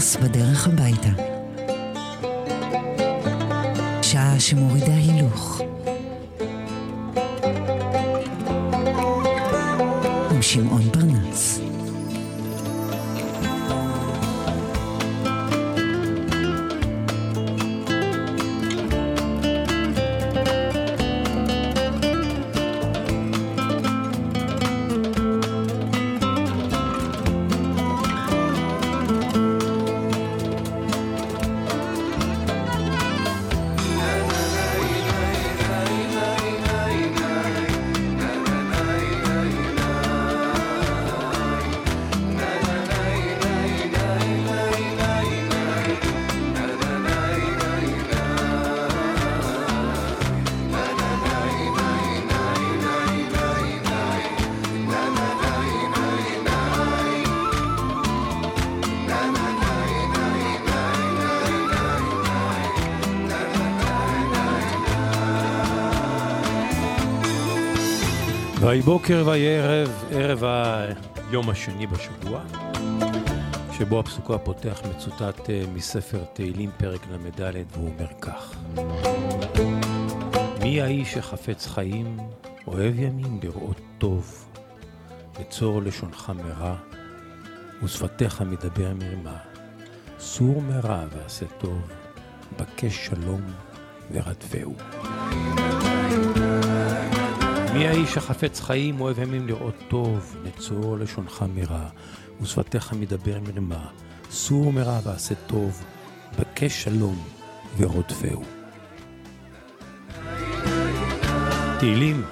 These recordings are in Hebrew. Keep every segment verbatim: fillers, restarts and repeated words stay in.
פרנס בדרך הביתה. שעה שמורידה הילוך. עם שמעון פרנס. ויהי בוקר ויהי ערב, ערב היום השני בשבוע, שבו הפסוק הפותח מצוטט מספר תהילים פרק למד, והוא אומר כך: מי האיש שחפץ חיים, אוהב ימים לראות טוב, בצור לשונך מרע, ושפתיך מדבר מרמה, סור מרע ועשה טוב, בקש שלום ורדפהו. מי האיש החפץ חיים, אוהב ימים לראות טוב, נצור לשונך מרע, ושפתיך מדבר מרמה, סור מרע ועשה טוב, בקש שלום ורודפהו. תהילים.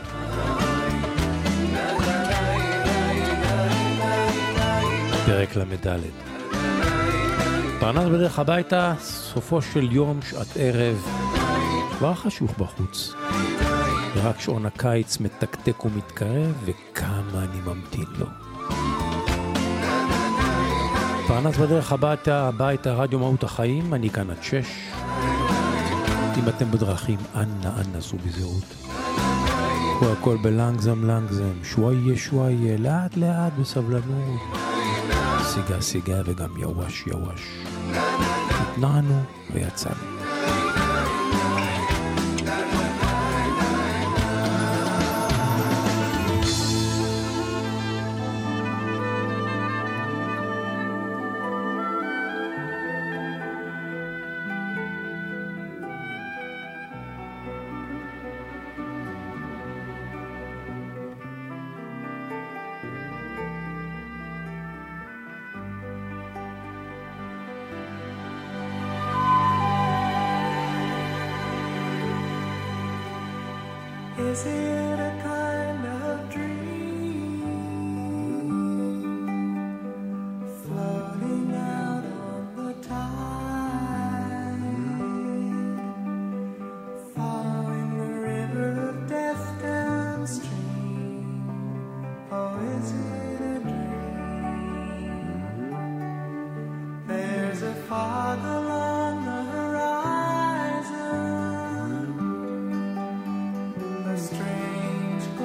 פרק למד. פרנס בדרך הביתה, סופו של יום, שעת ערב, כבר חשוך בחוץ. ורק שעון הקיץ מתקתק ומתקרב, וכמה אני ממתין לו. פרנס בדרך הביתה, הביתה, רדיו מהות החיים, אני כאן עד שש. אם אתם בדרכים, אנא, אנא, סעו בזהירות. הוא הכל בלנגזם, לנגזם, שוואיה, שוואיה, לאט, לאט, בסבלנות. סיגה, סיגה, וגם יווש, יווש. התנענו ויצאנו. Is it a kind of dream floating out on the tide, following the river of death downstream? Oh, is it a dream? There's a fog along the horizon, strange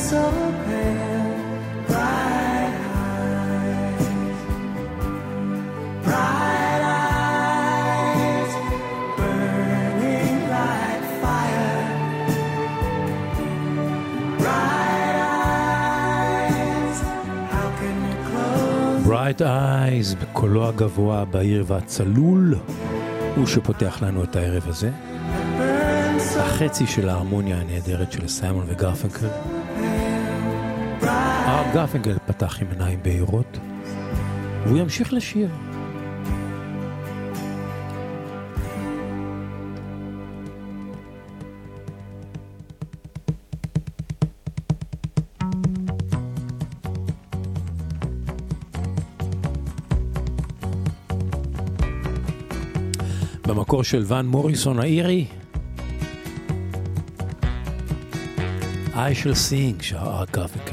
so pale, bright eyes, bright eyes, burning like fire, bright eyes, how can you close? Bright Eyes, בקולו הגבוה, בהיר והצלול, הוא שפותח לנו את הערב הזה. החצי של ההרמוניה הנהדרת של סיימון וגרפנקל. הרב גרפנקל פתח עם עיניים בהירות, והוא ימשיך לשיר. במקור של ון מוריסון האירי, I shall sing, שר ארט גרפנקל.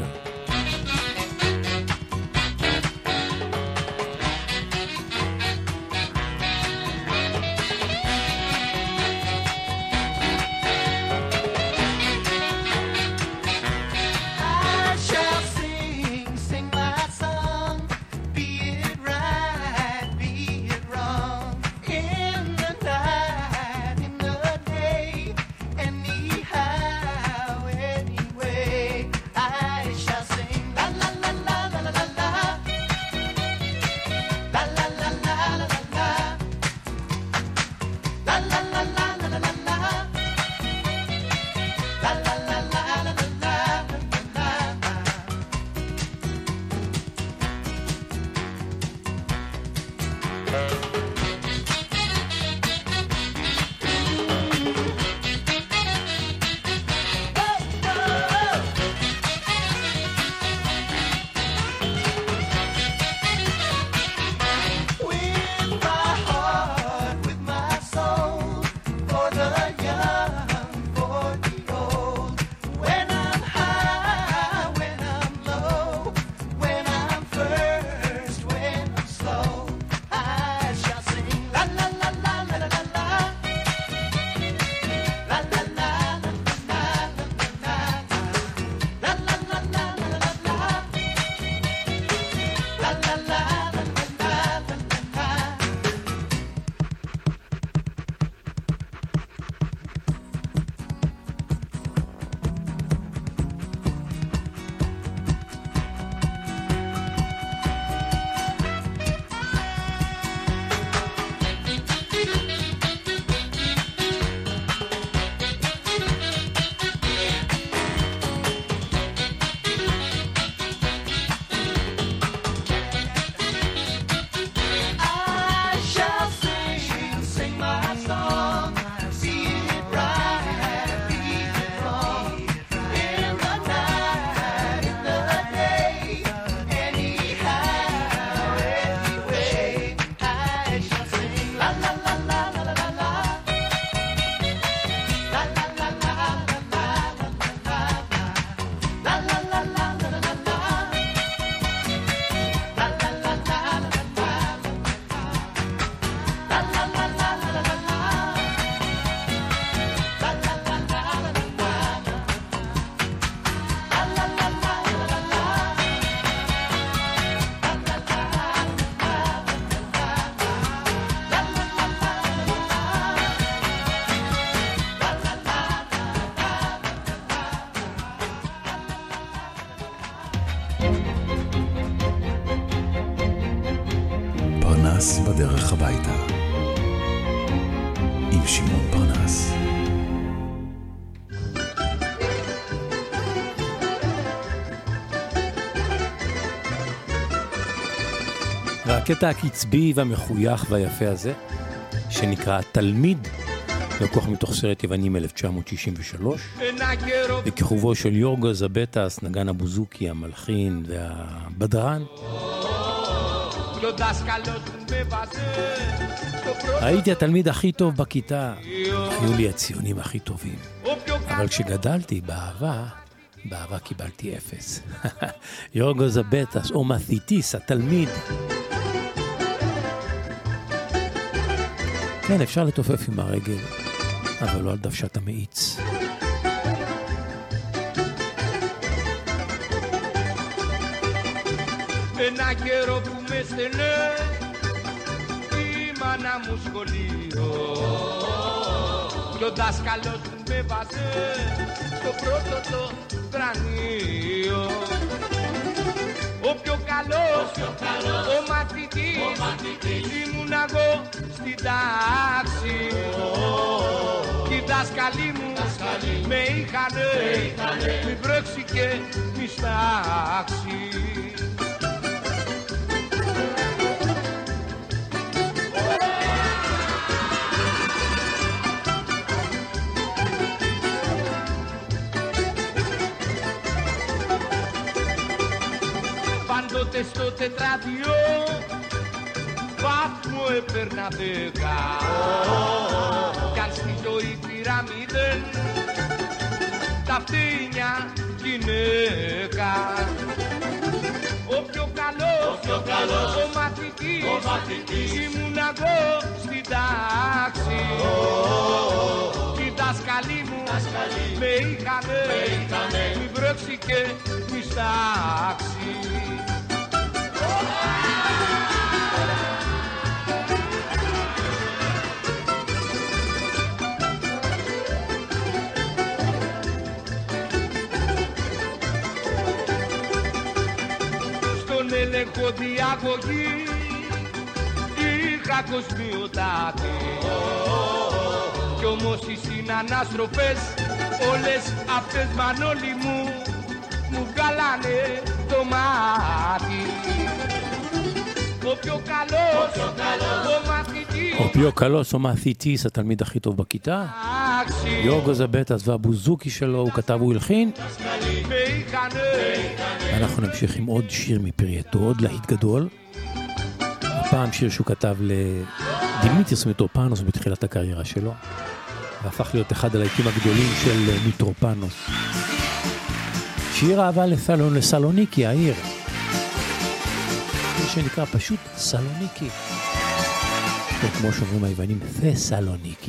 פרנס בדרך הביתה עם שמעון פרנס. והקטע הקצבי והמחוייך והיפה הזה, שנקרא תלמיד, לקוח מתוך סרט יווני מ-אלף תשע מאות שישים ושלוש, בכיכובו של יורגו זבטס, נגן הבוזוקי, המלחין והבדרן. הייתי התלמיד הכי טוב בכיתה, היו לי הציונים הכי טובים, אבל כשגדלתי באהבה, באהבה קיבלתי אפס. יורגו זבטס או מתיטיס, התלמיד. כן, אפשר לתופף עם הרגל, אבל לא על דוושת המאיץ. ένα καιρό που με στενέ η μάνα μου σχολείο κι ο δάσκαλος μου με βάζε στο πρώτο το κρανίο. Ο πιο καλός, ο μαθητής, ήμουν εγώ στην τάξη κι οι δάσκαλοι μου με είχανε μη βρέξει και μη στάξει. Πάντοτε στο τετράδιο βαθμό έπαιρνα δέκα κι αν στη ζωή πήρα μηδέν τα φτύνια γυναίκα. Ο πιο καλός, ο, πιο καλός, ο μαθητής, ο μαθητής ήμουν εγώ στην τάξη κι οι δάσκαλοι μου με είχανε μη βρέξει και μη στάξει. Έλεγχο διαγωγή είχα κοσμιοτάτη κι όμως οι συνανάστροφες όλες αυτές μανόλοι μου μου βγάλανε το μάτι. Ο πιο καλός, ο, καλός, ο מαθητής, ο πιο καλός, ο מαθητής, התלמיד הכי טוב בכיתה. יורגו זבטס והבוזוקי שלו, הוא כתב והלחין. אנחנו נמשיך עם עוד שיר מפרייתו, עוד להיט גדול. הפעם שיר שהוא כתב לדימיטריוס מיטרופנוס בתחילת הקריירה שלו, והפך להיות אחד הלהיטים הגדולים של מיטרופנוס. שיר אהבה לסלון, לסלוניקי, העיר. שיר שנקרא פשוט סלוניקי. או כמו שאומרים היוונים, תסלוניקי.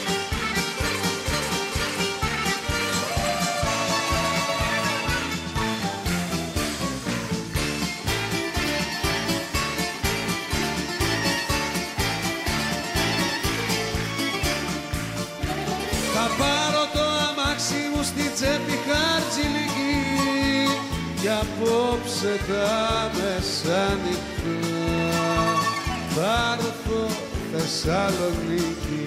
Κι απόψε τα μεσάνυχτα θα έρθω Θεσσαλονίκη.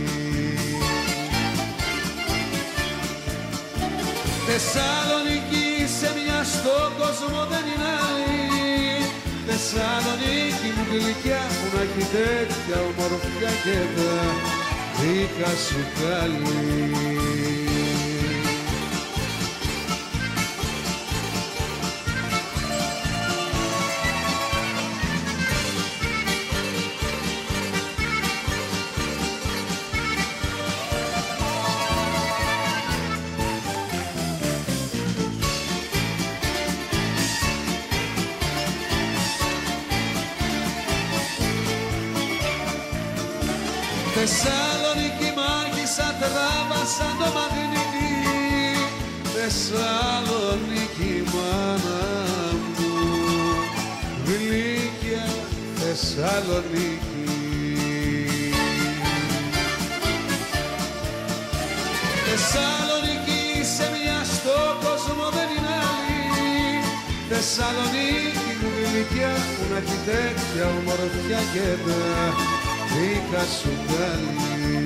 Θεσσαλονίκη σε μια στον κόσμο δεν είναι άλλη. Θεσσαλονίκη μου γλυκιά που να έχει τέτοια ομορφιά και τα δίκα σου καλή. Θεσσαλονίκη μάγισσα τράβασα το μαγνήτη. Θεσσαλονίκη μάνα μου γλυκιά Θεσσαλονίκη. Θεσσαλονίκη σε μια στον κόσμο δεν είναι άλλη. Θεσσαλονίκη μου γλυκιά που να έχει τέτοια ομορφιά και τα δίκα σου καλή.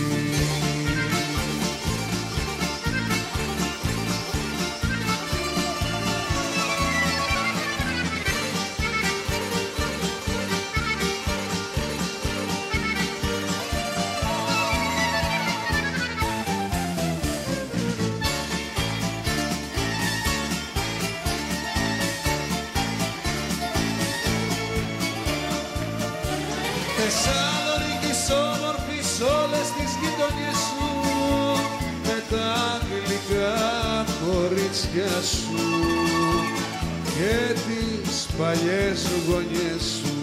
Θεσσαλονίκης όμορφης όλες τις γειτονιές σου με τα γλυκά κορίτσια σου και τις παλιές γωνιές σου.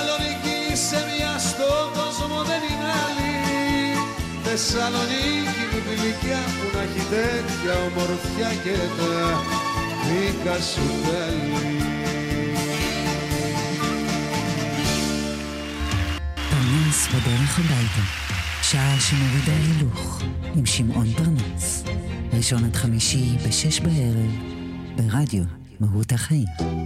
Θεσσαλονίκη σε μια στον κόσμο δεν είναι άλλη. Θεσσαλονίκη μου η γλυκιά που να έχει τέτοια ομορφιά και τα δικά σου τέλη. פרנס בדרך הביתה, שעה שמורידה הילוך, עם שמעון פרנס. ראשון עד חמישי בשש בערב, ברדיו מהות החיים.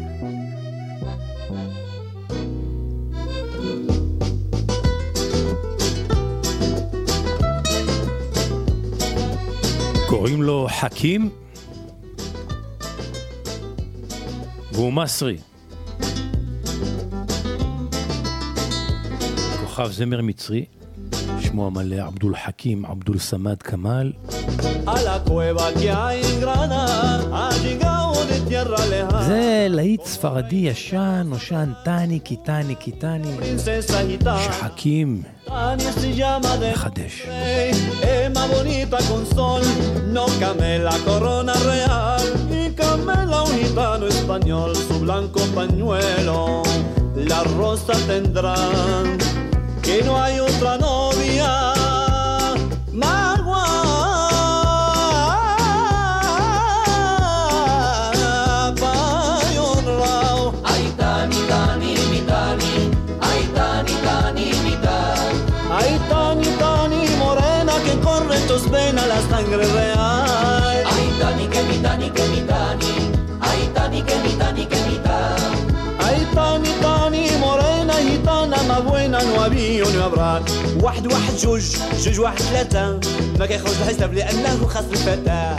קוראים לו חכים והוא מסרי, כוכב זמר מצרי, שמו המלא עבדול חכים עבדול סמד כמאל. זה להיט ספרדי ישן, נושן טני קיטני קיטני שחכים מחדש. Emma bonita con sol, no camela corona real y camela un gitano español su blanco pañuelo. La rosa tendrá que no hay otra novia más guapa y honrao. Ay tani tani mi tani, ay tani tani mi tani, ay tani tani morena que corre en tus venas la sangre real. Ay tani que mi tani que mi tani, ay tani que mi tani que mi tani, ay tani tani morena gitana más buena no había no habrá. واحد واحد جوج جوج واحد ثلاثة ما كيخرج الحساب لأنه خاص الفتاة.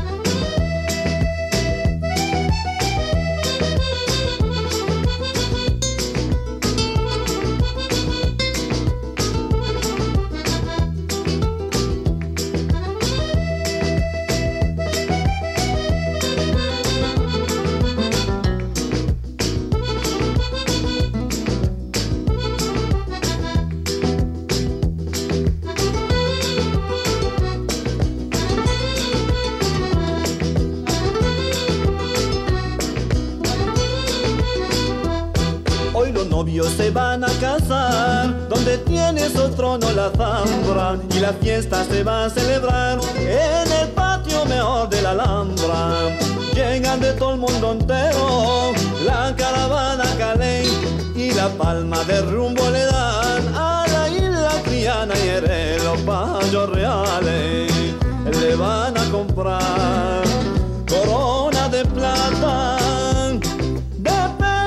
Se van a casar donde tiene su trono la zambra y la fiesta se va a celebrar en el patio mejor de la Alhambra. Llegan de todo el mundo entero la caravana Calais y la palma de rumbo le dan a la isla Triana y Jerez. Los payos reales le van a comprar corona de plata de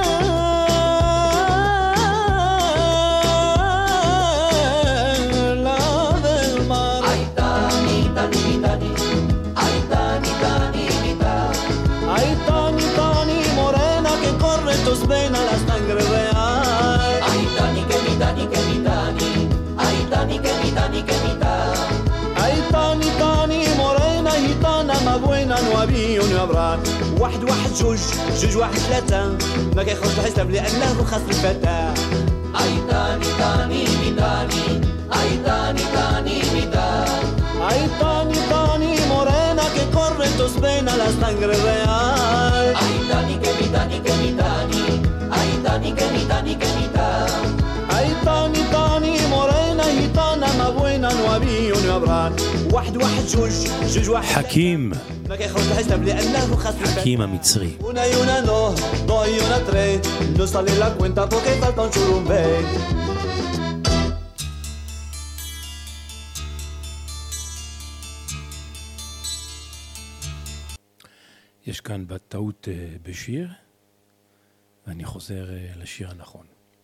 tus venas la sangre real. Ay tani que mi tani que mi tani, ay tani que mi tani que mi tani, ay tani tani morena gitana más buena no había no habrá. واحد واحد جوج جوج واحد ثلاثة ما كيخرج الحساب لأنه خاص الفتاة. ay tani tani mi tani, ay tani tani mi tani, ay tani tani morena que corre en tus venas la sangre real. Ay tani que mi tani que mi tani, ay tani que mi tani que mi tani, ay tani tani morena gitana más buena no había no habrá. واحد واحد جوج جوج واحد חכים, ما كيخرج الحساب لأنه خاص חכים המצרי. Una y una no, dos y una tres, no sale la cuenta porque falta un churumbe. יש כאן בטעות בשיר, ואני חוזר לשיר הנכון.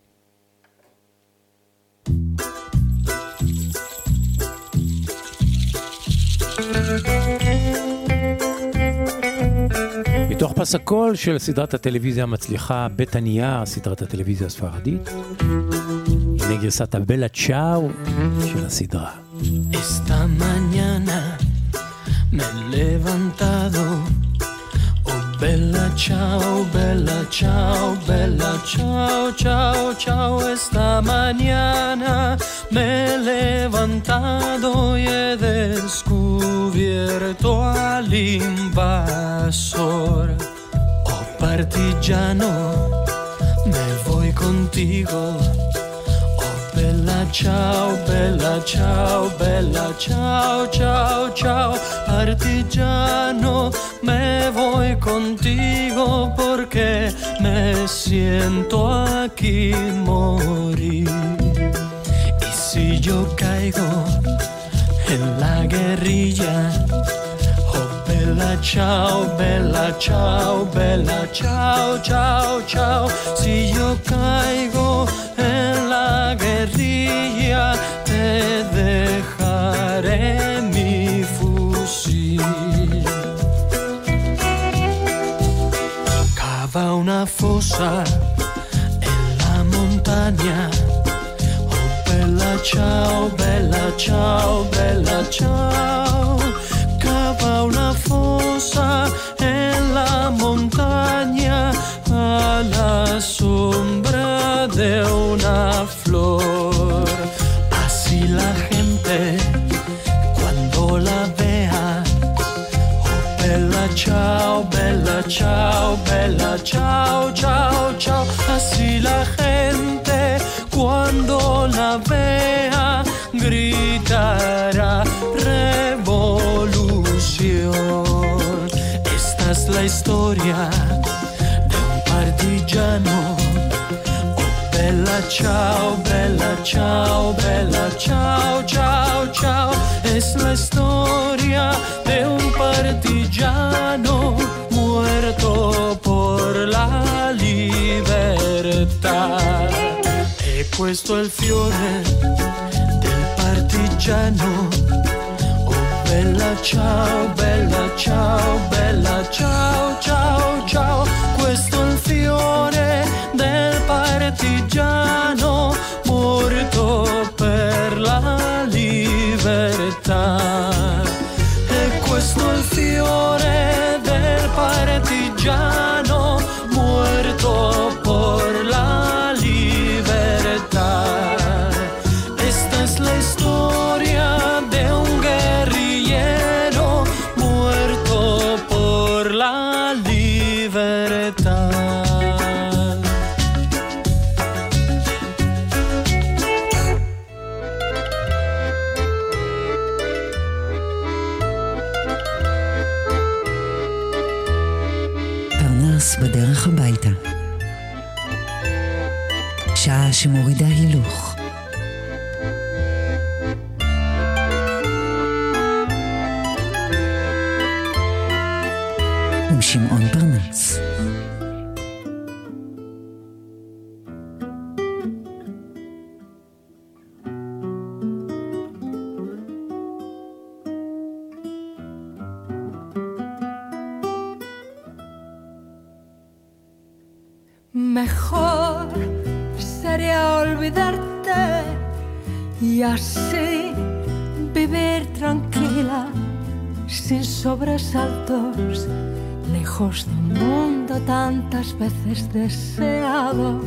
מתוך פס הקול של סדרת הטלוויזיה המצליחה בית הנייר, סדרת הטלוויזיה הספרדית, הנה גרסת הבלה צ'או של הסדרה. Esta mañana me he levantado, oh bella ciao, bella ciao, bella ciao, ciao, ciao. Esta mañana me he levantado y he descubierto al invasor. Oh partigiano, me voy contigo, oh bella Bella ciao, bella ciao, bella ciao, ciao, ciao, artillano, me voy contigo porque me siento aquí morir. Y si yo caigo en la guerrilla, oh bella ciao, bella ciao, bella ciao, ciao, ciao, si yo caigo en la guerrilla, te dejaré mi fusil. Cava una fosa en la montaña, oh bella ciao, bella ciao, bella ciao, cava una fosa en la montaña a la sombra de una flor. Así la gente cuando la vea, oh bella ciao, bella ciao, bella ciao, ciao, ciao, así la gente cuando la vea gritará revolución. Esta es la historia de un partigiano. Oh bella ciao, bella ciao, bella ciao, ciao, ciao, es la historia de un partigiano muerto por la libertà. E questo è il fiore del partigiano. Oh bella ciao, bella ciao, bella ciao, ciao, ciao, questo è il fiore del partigiano morto per la libertà. E questo è il fiore del partigiano muerto por la libertà. Esta es la historia de un guerrillero muerto por la libertà. פרנס בדרך הביתה. שעה שמורידה הילוך. עם שמעון פרנס. Mejor sería olvidarte y así vivir tranquila, sin sobresaltos, lejos de un mundo tantas veces deseado.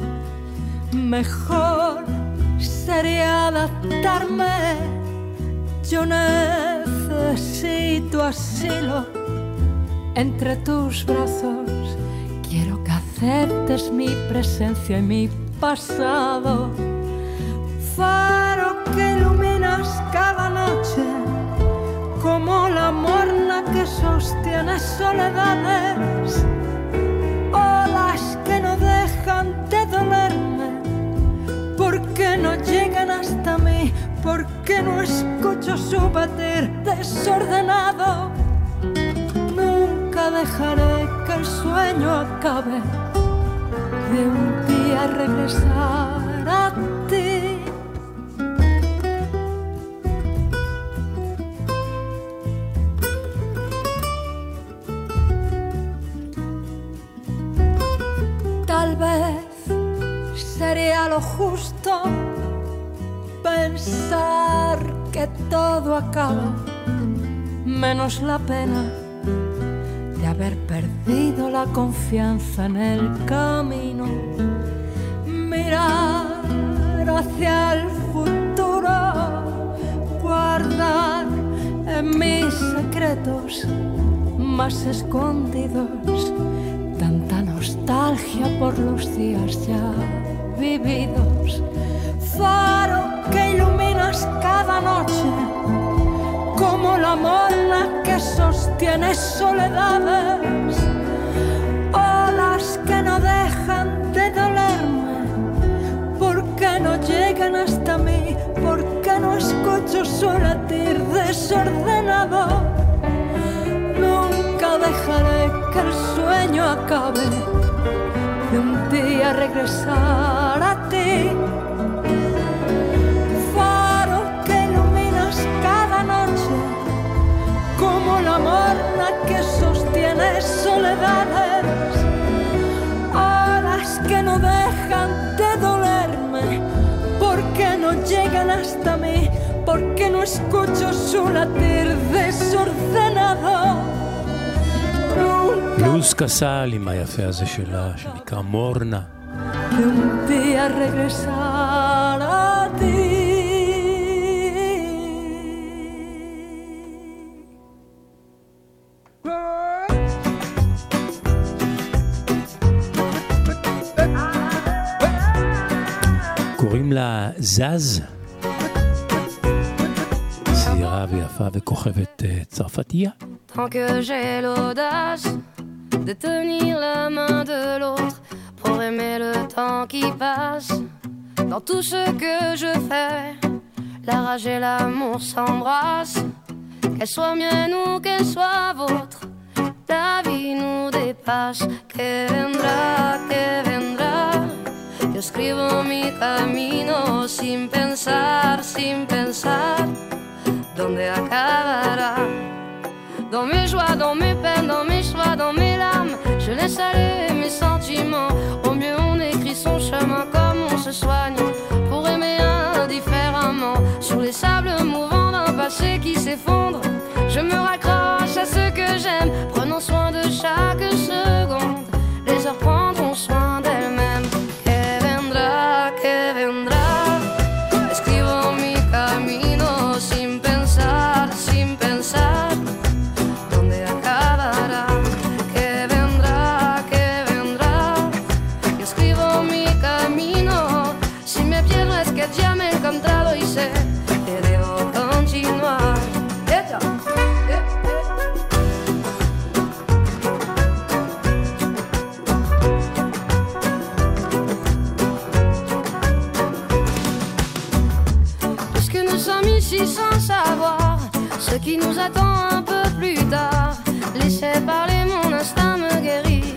Mejor sería adaptarme, yo necesito asilo entre tus brazos. Quiero que aceptes mi presencia y mi pasado. Faro que iluminas cada noche, como la morna que sostiene soledades, olas que no dejan de dolerme, porque no llegan hasta mí, porque no escucho su batir desordenado. Nunca dejaré que el sueño acabe de un día regresar a ti. Tal vez sería lo justo pensar que todo acaba, menos la pena de haber perdido la confianza en el camino. Mirar hacia el futuro, guardar en mis secretos más escondidos tanta nostalgia por los días ya vividos. Faro que sostiene soledades, olas que no dejan de dolerme, porque no llegan hasta mí, porque no escucho su latir desordenado. Nunca dejaré que el sueño acabe de un día regresar a ti. Faro que iluminas cada noche, como la morna que sostiene soledades, olas que no dejan de dolerme, porque no llegan hasta mí, porque no escucho su latir desordenado. לוז קסל עם היפה הזה שלה, שנקרא מורנה. De un día regresar a ti. קוראים לה זז, צעירה ויפה וכוכבת צרפתייה. Tant que j'ai l'audace de tenir la main de l'autre pour aimer le temps qui passe, dans tout ce que je fais, la rage et l'amour s'embrassent, qu'elle soit mienne ou qu'elle soit vôtre, la vie nous dépasse. Que vendrá, que vendrá, yo escribo mi camino sin pensar, sin pensar dónde acabará. Dans mes joies, dans mes peines, dans mes choix, dans mes larmes, je laisse aller mes sentiments. Au mieux on écrit son chemin comme on se soigne, pour aimer indifféremment. Sur les sables mouvants d'un passé qui s'effondre, je me raccroche à ce que j'aime, prenons soin de chaque seconde. Les heures prendront soin d'elles-mêmes. Que vendrá, que vendrá, escribo mi camino sin pensar, sin pensar ya me he encontrado y sé que debo continuar. ¡Ella! Puisque nous sommes ici sans savoir ce qui nous attend un peu plus tard, laissez parler, mon instinct me guérit.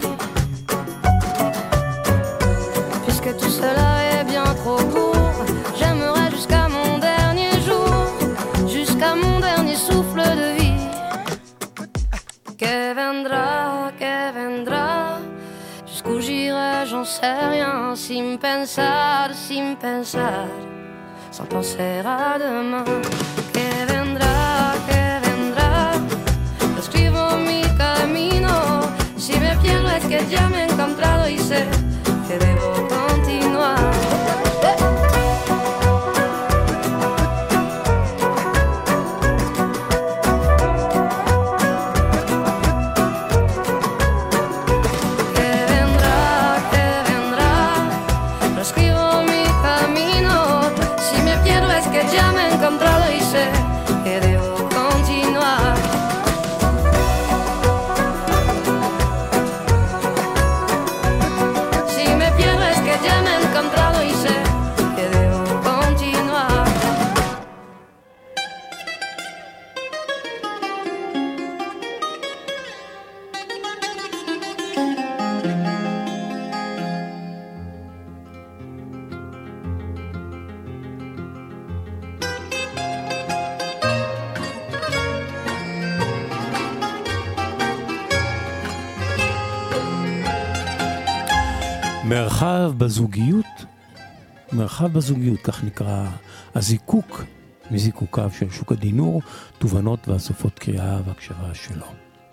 Puisque tout cela est bien trop court, j'aimerais jusqu'à mon dernier jour, jusqu'à mon dernier souffle de vie. Que vendrá, que vendrá, jusqu'où j'irai, j'en sais rien, sin pensar, sin pensar, sans penser à demain. Que vendrá, que vendrá, escribo mi camino, si me pierdo es que ya me he encontrado y sé que debo continuar. Que debo continuar. Si me pierdo es que ya me he encontrado y sé que debo continuar. מרחב בזוגיות, מרחב בזוגיות, כך נקרא הזיקוק מזיקוקיו של שוק הדינור, תובנות ואסופות קריאה והקשבה שלו.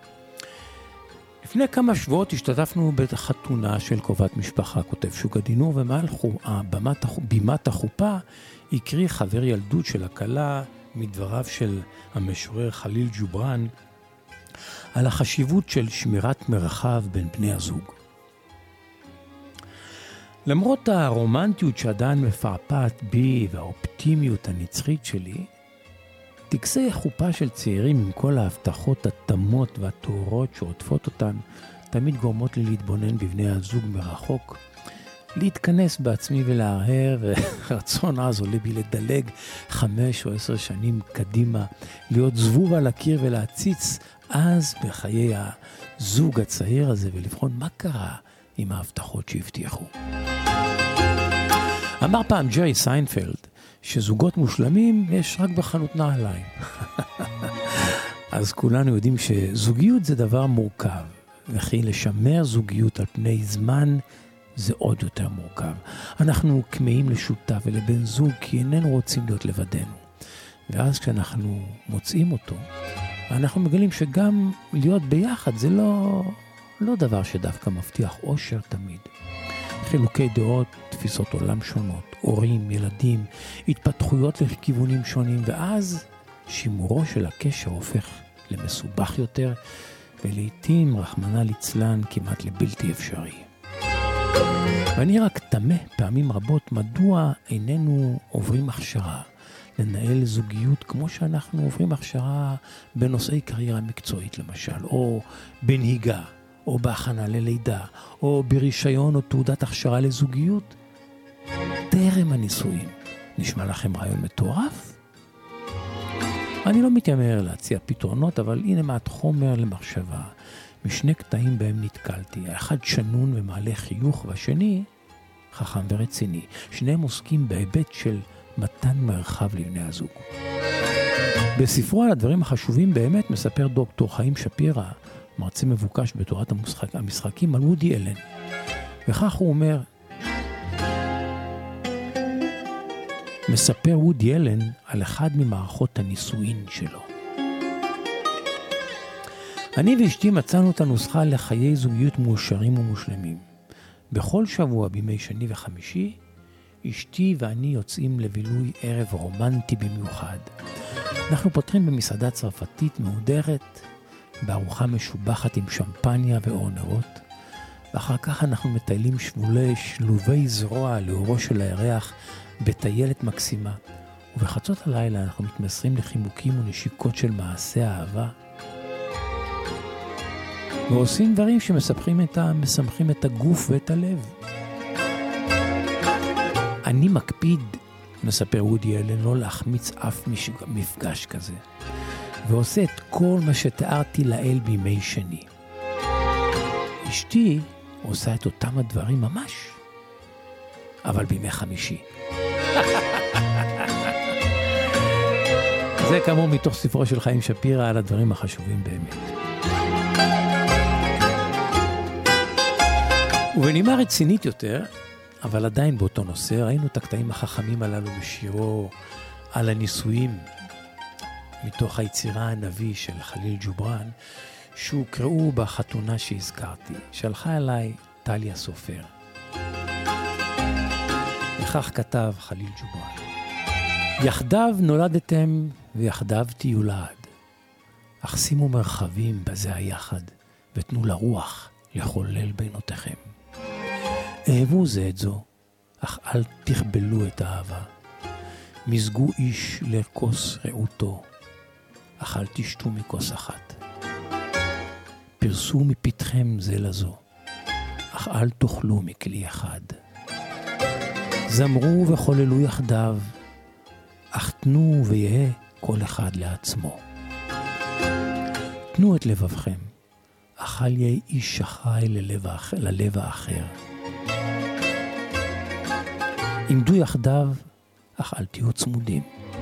לפני כמה שבועות השתתפנו בחתונה של קרובת משפחה, כותב שוק הדינור, ומעל בימת, בימת החופה הקריא חבר ילדות של הכלה מדבריו של המשורר חליל ג'ובראן על החשיבות של שמירת מרחב בין בני הזוג. למרות הרומנטיות שעדיין מפעפעת בי והאופטימיות הנצחית שלי, טקסי חופה של צעירים עם כל ההבטחות התמות והתאורות שעוטפות אותן, תמיד גורמות לי להתבונן בבני הזוג מרחוק, להתכנס בעצמי ולהרהר, ורצון אז עולה בי לדלג חמש או עשר שנים קדימה, להיות זבוב על הקיר ולהציץ אז בחיי הזוג הצעיר הזה, ולבחון מה קרה עם ההבטחות שהבטיחו. אמר פעם ג'רי סיינפלד, שזוגות מושלמים יש רק בחנות נעליים. אז כולנו יודעים שזוגיות זה דבר מורכב, וכי לשמר זוגיות על פני זמן זה עוד יותר מורכב. אנחנו כמהים לשותף ולבן זוג כי איננו רוצים להיות לבדנו. ואז כשאנחנו מוצאים אותו, אנחנו מגלים שגם להיות ביחד זה לא, לא דבר שדווקא מבטיח אושר תמיד. חילוקי דעות, תפיסות עולם שונות, הורים, ילדים, התפתחויות לכיוונים שונים, ואז שימורו של הקשר הופך למסובך יותר, ולעיתים רחמנא ליצלן כמעט לבלתי אפשרי. ואני רק תמה פעמים רבות מדוע איננו עוברים הכשרה לנהל זוגיות כמו שאנחנו עוברים הכשרה בנושאי קריירה מקצועית למשל, או בנהיגה, או בהכנה ללידה, או ברישיון או תעודת הכשרה לזוגיות, טרם הנישואים. נשמע לכם רעיון מטורף? אני לא מתיימר להציע פתרונות, אבל הנה מעט חומר למחשבה. משני קטעים בהם נתקלתי, האחד שנון ומעלה חיוך, והשני חכם ורציני. שניהם עוסקים בהיבט של מתן מרחב לבני הזוג. בספרו על הדברים החשובים באמת מספר דוקטור חיים שפירא, מרצה מבוקש בתורת המשחק, המשחקים, על וודי אלן. וכך הוא אומר, מספר וודי אלן על אחד ממערכות הנישואין שלו. אני ואשתי מצאנו את הנוסחה לחיי זוגיות מאושרים ומושלמים. בכל שבוע בימי שני וחמישי, אשתי ואני יוצאים לבילוי ערב רומנטי במיוחד. אנחנו פותרים במסעדה צרפתית מהודרת, בארוחה משובחת עם שמפניה ואור נרות, ואחר כך אנחנו מטיילים שבולי שלובי זרוע לאורו של הירח בטיילת מקסימה, ובחצות הלילה אנחנו מתמסרים לחיבוקים ונשיקות של מעשי האהבה, ועושים דברים שמסמכים את, ה... מסמכים את הגוף ואת הלב. אני מקפיד, מספר וודי אלן, לא להחמיץ אף מפגש כזה, ועושה את כל מה שתיארתי לאל בימי שני. אשתי עושה את אותם הדברים ממש, אבל בימי חמישי. זה כאמור מתוך ספרו של חיים שפירא על הדברים החשובים באמת. ובנימה רצינית יותר, אבל עדיין באותו נושא, ראינו את הקטעים החכמים הללו בשירו על הנישואים, מתוך היצירה הנביא של חליל ג'ובראן, שהוקראו בחתונה שהזכרתי, שלחה אליי טליה סופר. וכך כתב חליל ג'ובראן, יחדיו נולדתם ויחדיו תהיו לעד, אך שימו מרחבים בזה היחד, ותנו לרוח לחולל בינותיכם. אהבו זה את זו, אך אל תכבלו את האהבה. מזגו איש לכוס רעותו, אך אל תשתו מכוס אחת. פרסו מפתחם זה לזו, אך אל תאכלו מכלי אחד. זמרו וחוללו יחדיו, אך תנו ויהיה כל אחד לעצמו. תנו את לבבכם, אך אל יהיה איש אחראי ללב, ללב האחר. עמדו יחדיו, אך אל תהיו צמודים.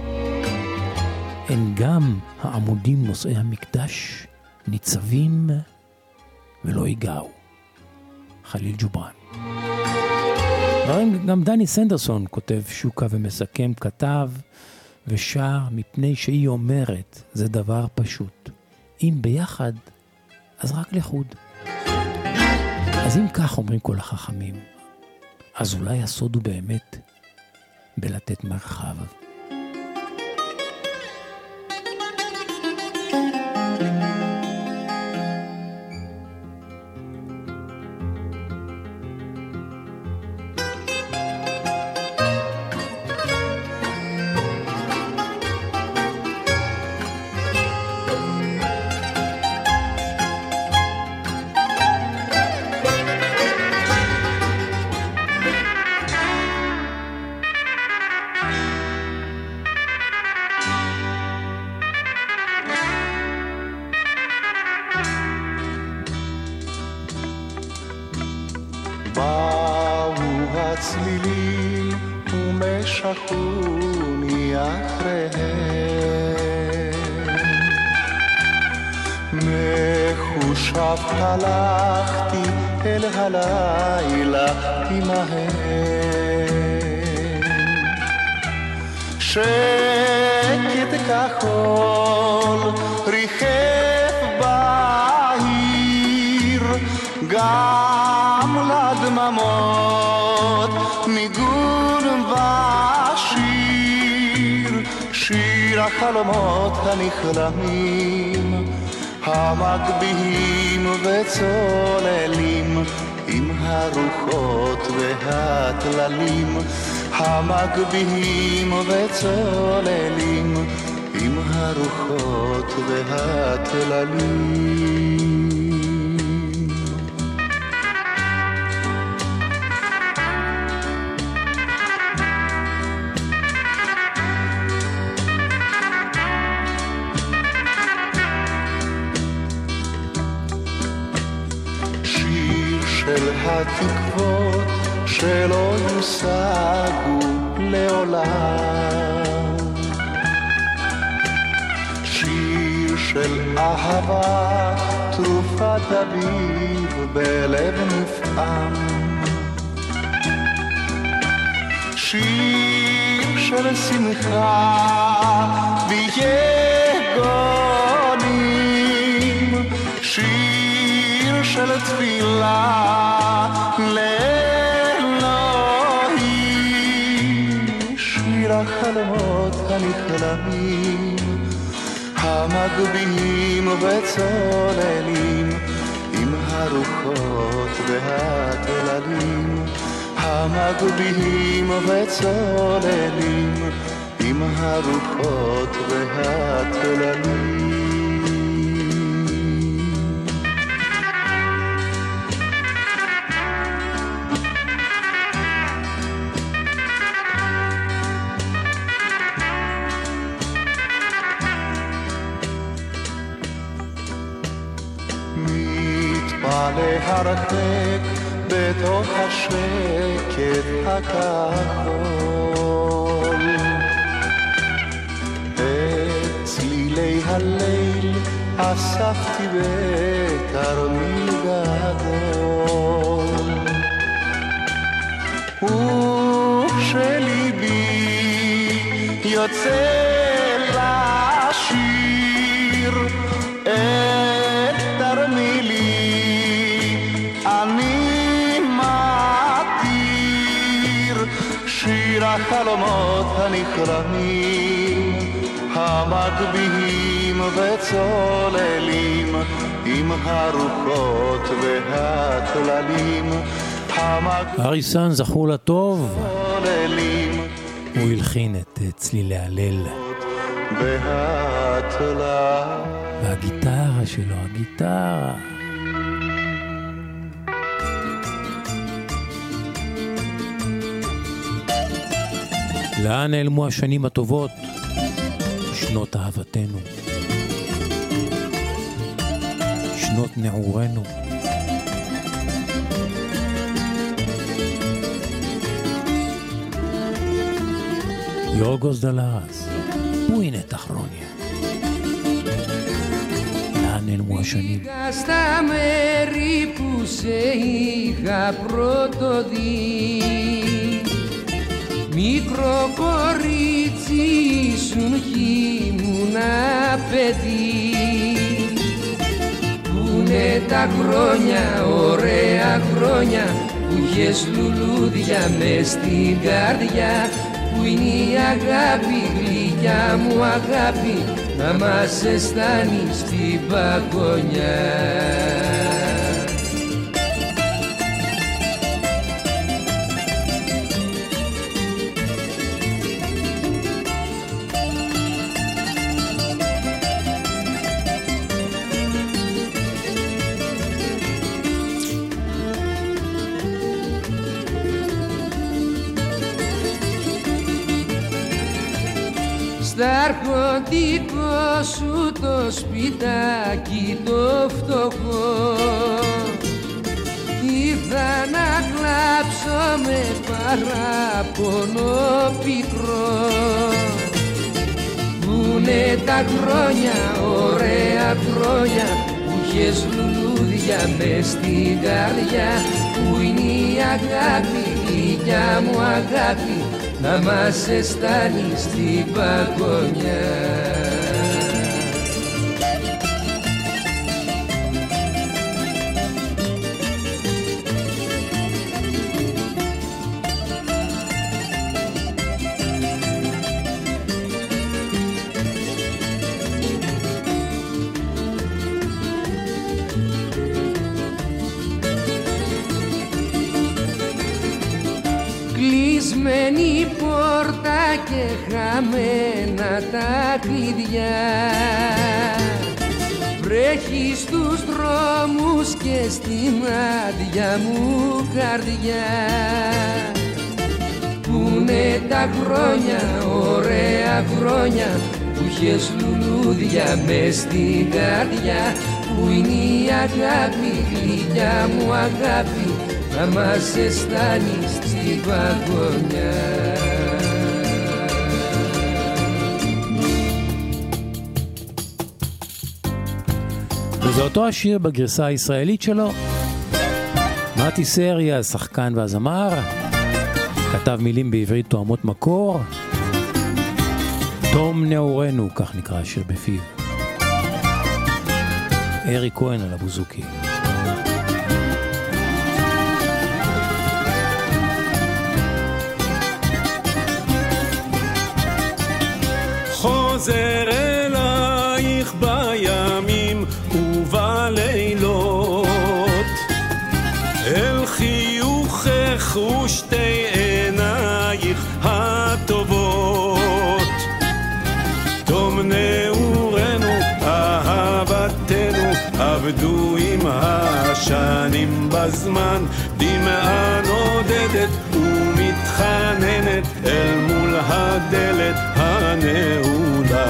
אין גם העמודים נושאי המקדש ניצבים ולא ייגעו. חליל ג'ובראן. גם דני סנדרסון כותב שוקה ומסכם, כתב ושר מפני שהיא אומרת, זה דבר פשוט. אם ביחד, אז רק לחוד. אז אם כך אומרים כל החכמים, אז אולי הסוד הוא באמת בלתת מרחב. שכוני אחריהם. מחושב הלכתי אל הלילה עמהם. שקט כחול ריחף בעיר, גם לדממות ניגון ושיר, שיר החלומות הנכלמים, המגביהים וצוללים עם הרוחות והטללים, המגביהים וצוללים עם הרוחות והטללים. של התקוות שלא יושגו לעולם, שיר של אהבה תרופת אביב בלב נפעם, שיר של שמחה ויגונים, שיר של תפילה לאלוהים, שיר החלומות הנכלמים, המגביהים וצוללים עם הרוחות והטללים, המגביהים וצוללים עם הרוחות והטללים. להרחק בתוך השקט הכחול, את צלילי הליל אספתי בתרמיל גדול, וכשליבי יוצא לשיר את תרמילי אני מתיר, שיר החלומות הנכלמים, המגביהים וצוללים עם הרוחות והטללים, אריסן זכור לטוב, הוא הלחין את צלילי הליל והגיטרה שלו, הגיטרה לאן נעלמו השנים הטובות, שנות אהבתנו, שנות נעורנו, יורגוס דלרס, הנה תחרוניה, לאן נעלמו השנים. Στα μέρη που σε είχα πρώτο δει, μικρό κορίτσι ήσουν κι ήμουνα παιδί. Πούνε τα χρόνια, ωραία χρόνια, που είχες λουλούδια μες στην καρδιά, που είναι η αγάπη, γλυκιά μου αγάπη, να μας αισθάνει στην παγωνιά. Στα αρχοντικό σου το σπιτάκι το φτωχό, ήρθα να κλάψω με παράπονο πικρό. Πούνε τα χρόνια, ωραία χρόνια, που είχες λουλούδια μες στην καρδιά. Πού είναι η αγάπη, γλυκιά μου αγάπη, να μας αισθάνει στην παγωνιά. Κλεισμένη πόρτα και χαμένα τα κλειδιά. Βρέχει στους δρόμους και στην άδεια μου καρδιά. Πούνε τα χρόνια, ωραία χρόνια, που είχες λουλούδια μες στην καρδιά. Πού είναι η αγάπη, γλυκιά μου αγάπη, να μας αισθάνεις στην παγωνιά. וזה אותו השיר בגרסה הישראלית שלו. מתי סרי, השחקן והזמר, כתב מילים בעברית תואמות מקור. תום נעורנו, כך נקרא השיר בפיו. ארי כהן על הבוזוקי. חוזר אלייך בימים ובלילות, אל חיוכך ושתי עינייך הטובות. תום נעורנו, אהבתנו, עבדו עם השנים בזמן. דמעה נודדת ומתחננת אל מול הדלת הנעולה.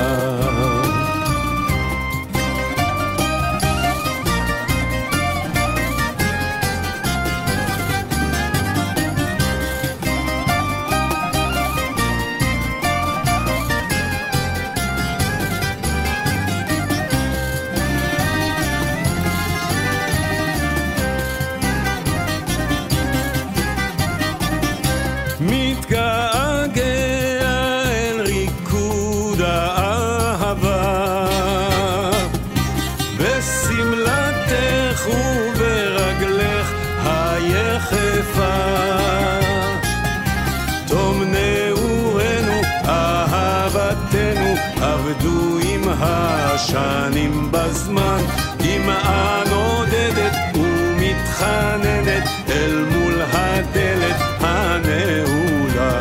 תום נעורנו, אהבתנו, עבדו עם השנים בזמן. דמעה נודדת ומתחננת אל מול הדלת הנעולה.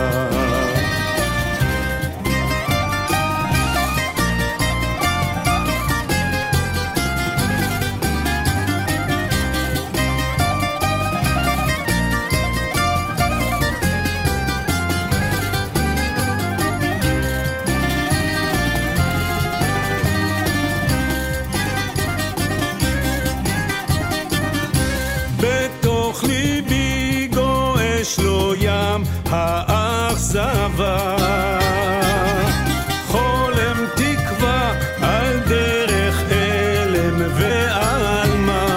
האכזבה, חולם תקווה על דרך אלם ועל מה.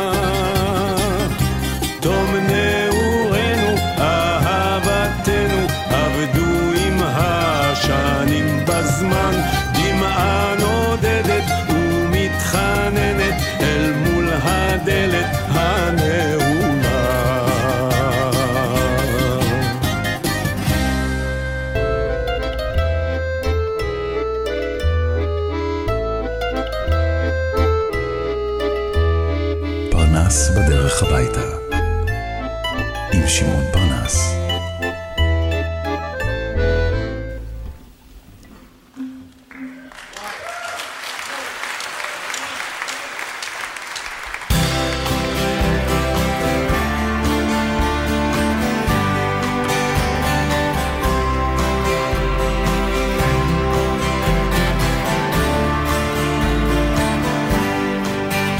תום נעורנו, אהבתנו, עבדו עם השנים בזמן. דמעה נודדת ומתחננת אל מול הדלת הנעולה. פרנס בדרך הביתה עם שמעון פרנס.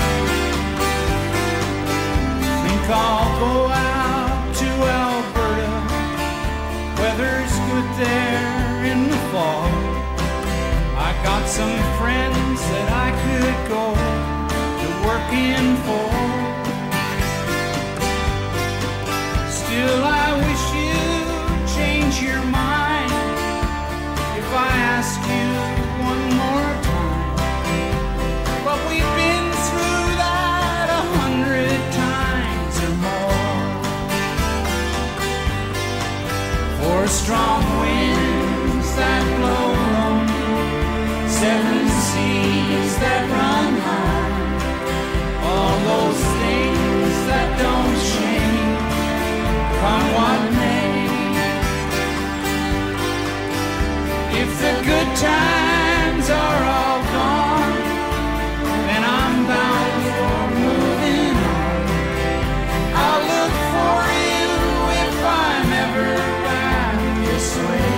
I'll go out to Alberta some friends that I could go to working for. Still, I wish you'd change your mind if I ask you one more time. But we've been through that a hundred times or more. For strong winds that blow lonely, seven seas that run high, all those things that don't change, come what may. If the good times are all gone, then I'm bound for moving on. I'll look for you if I'm ever back this way.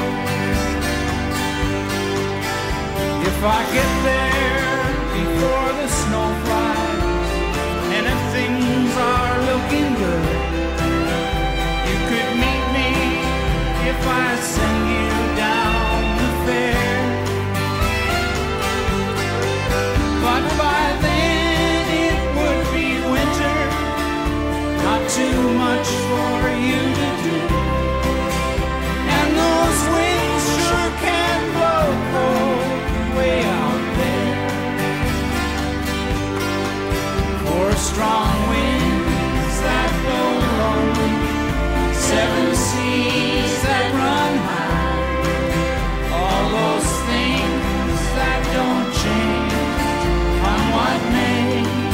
If I get there before the snow flies, and if things are looking good, you could meet me if I send you down the fair. But by then it would be winter, not too much for you to do. And those winds sure can blow cold way out there. For strong winds that blow lonely, seven seas that run high, all those things that don't change, come what may.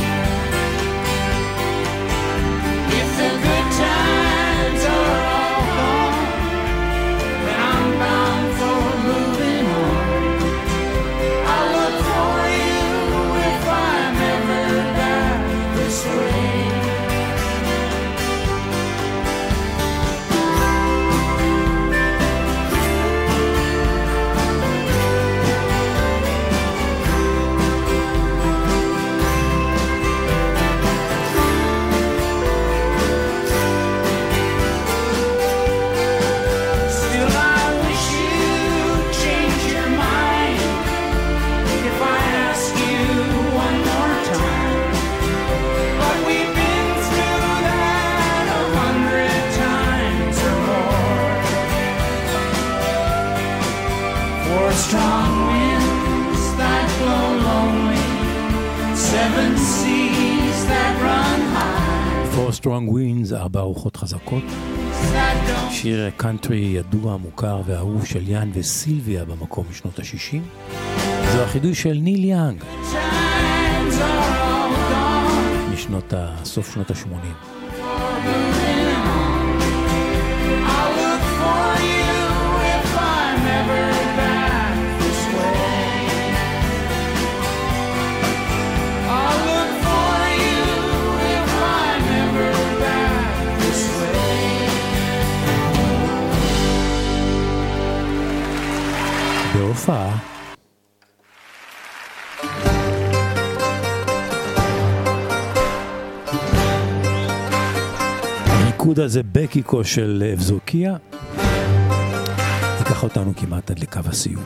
If the good times are all gone, then I'm bound for moving on. I'll look for you if I'm ever back this way. Still, I wish you'd change your mind if I ask you one more time. But we've been through that a hundred times or more. For strong winds that blow lonely, seven seas that run high, For Strong Winds, ארבע רוחות חזקות. that don't שיר קאנטרי ידוע, מוכר ואהוב של יאן וסילביה במקום משנות ה-שישים. זו החידוש של ניל יאנג times are all gone. משנות ה... סוף שנות ה-שמונים. I'll look for you if I'm ever back this way. I'll look for you if I'm ever back this way. בהופעה הריקוד הזה בקיקו של אבזוקיה ייקח אותנו כמעט עד לקו הסיום.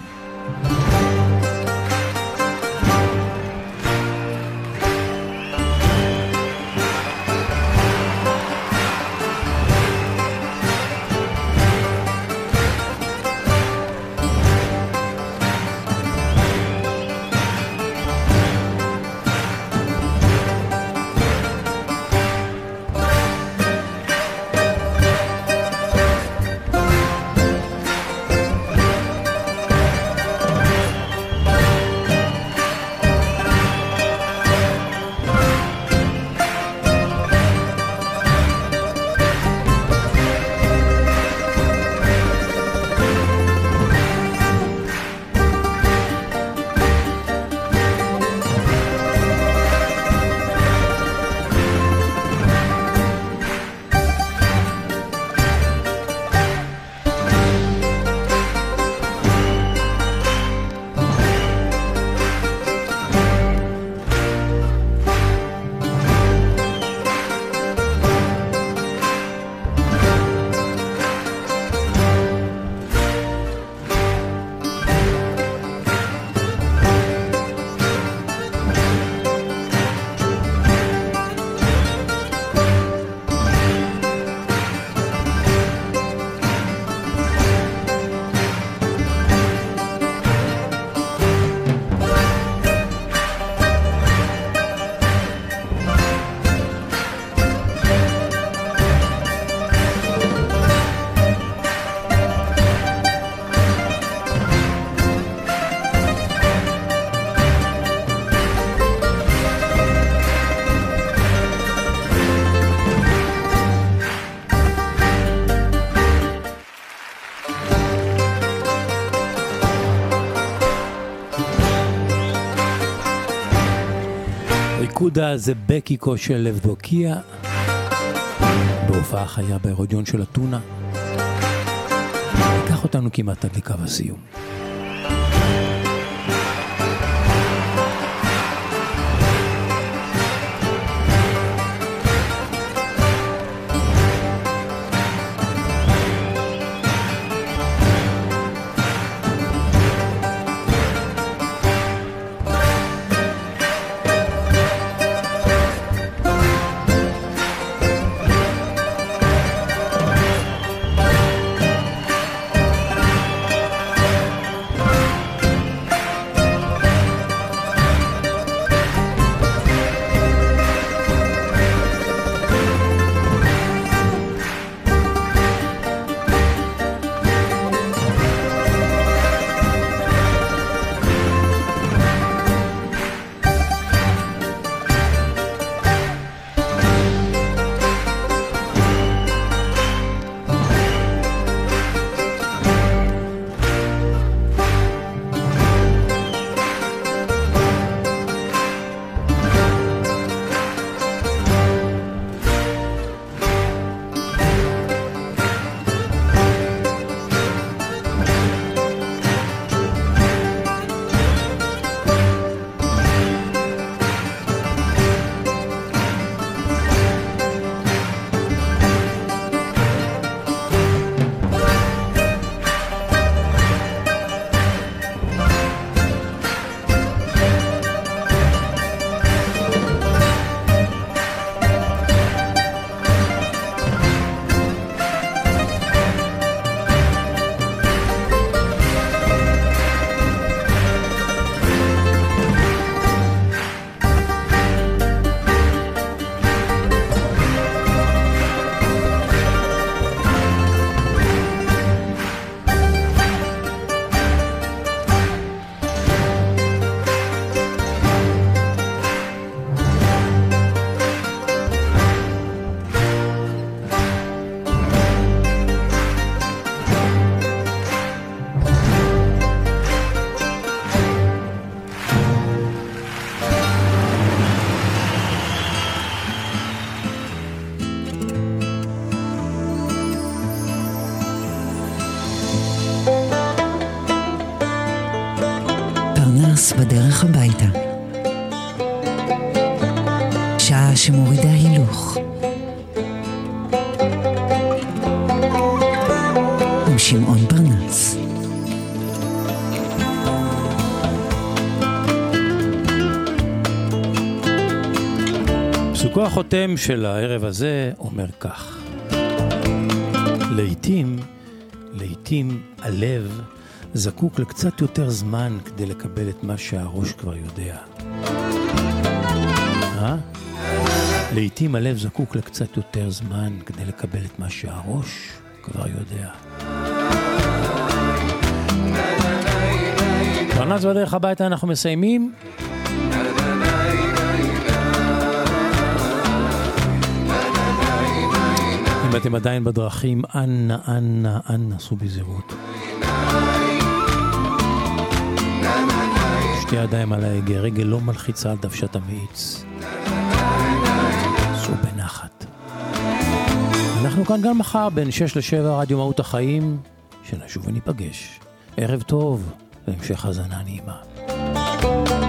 בריקודה זה בקיקו של לבדוקיה, בהופעה חיה בהרודיון של אתונה. לקח אותנו כמעט עד לקו הסיום. בדרך הביתה. שעה שמורידה הילוך. עם שמעון פרנס. פסוקו החותם של הערב הזה אומר כך: לעתים, לעתים הלב זקוק לקצת יותר זמן כדי לקבל את מה שהראש כבר יודע. אה? לעתים הלב זקוק לקצת יותר זמן כדי לקבל את מה שהראש כבר יודע. פרנס בדרך הביתה אנחנו מסיימים. אם אתם עדיין בדרכים, אנא, אנא, אנא, סעו בזהירות. שתי ידיים על ההגה, רגל לא מלחיצה על דוושת המאיץ. סעו בנחת. אנחנו כאן גם מחר בין שש לשבע, רדיו מהות החיים, שנשוב וניפגש. ערב טוב והמשך הזנה נעימה.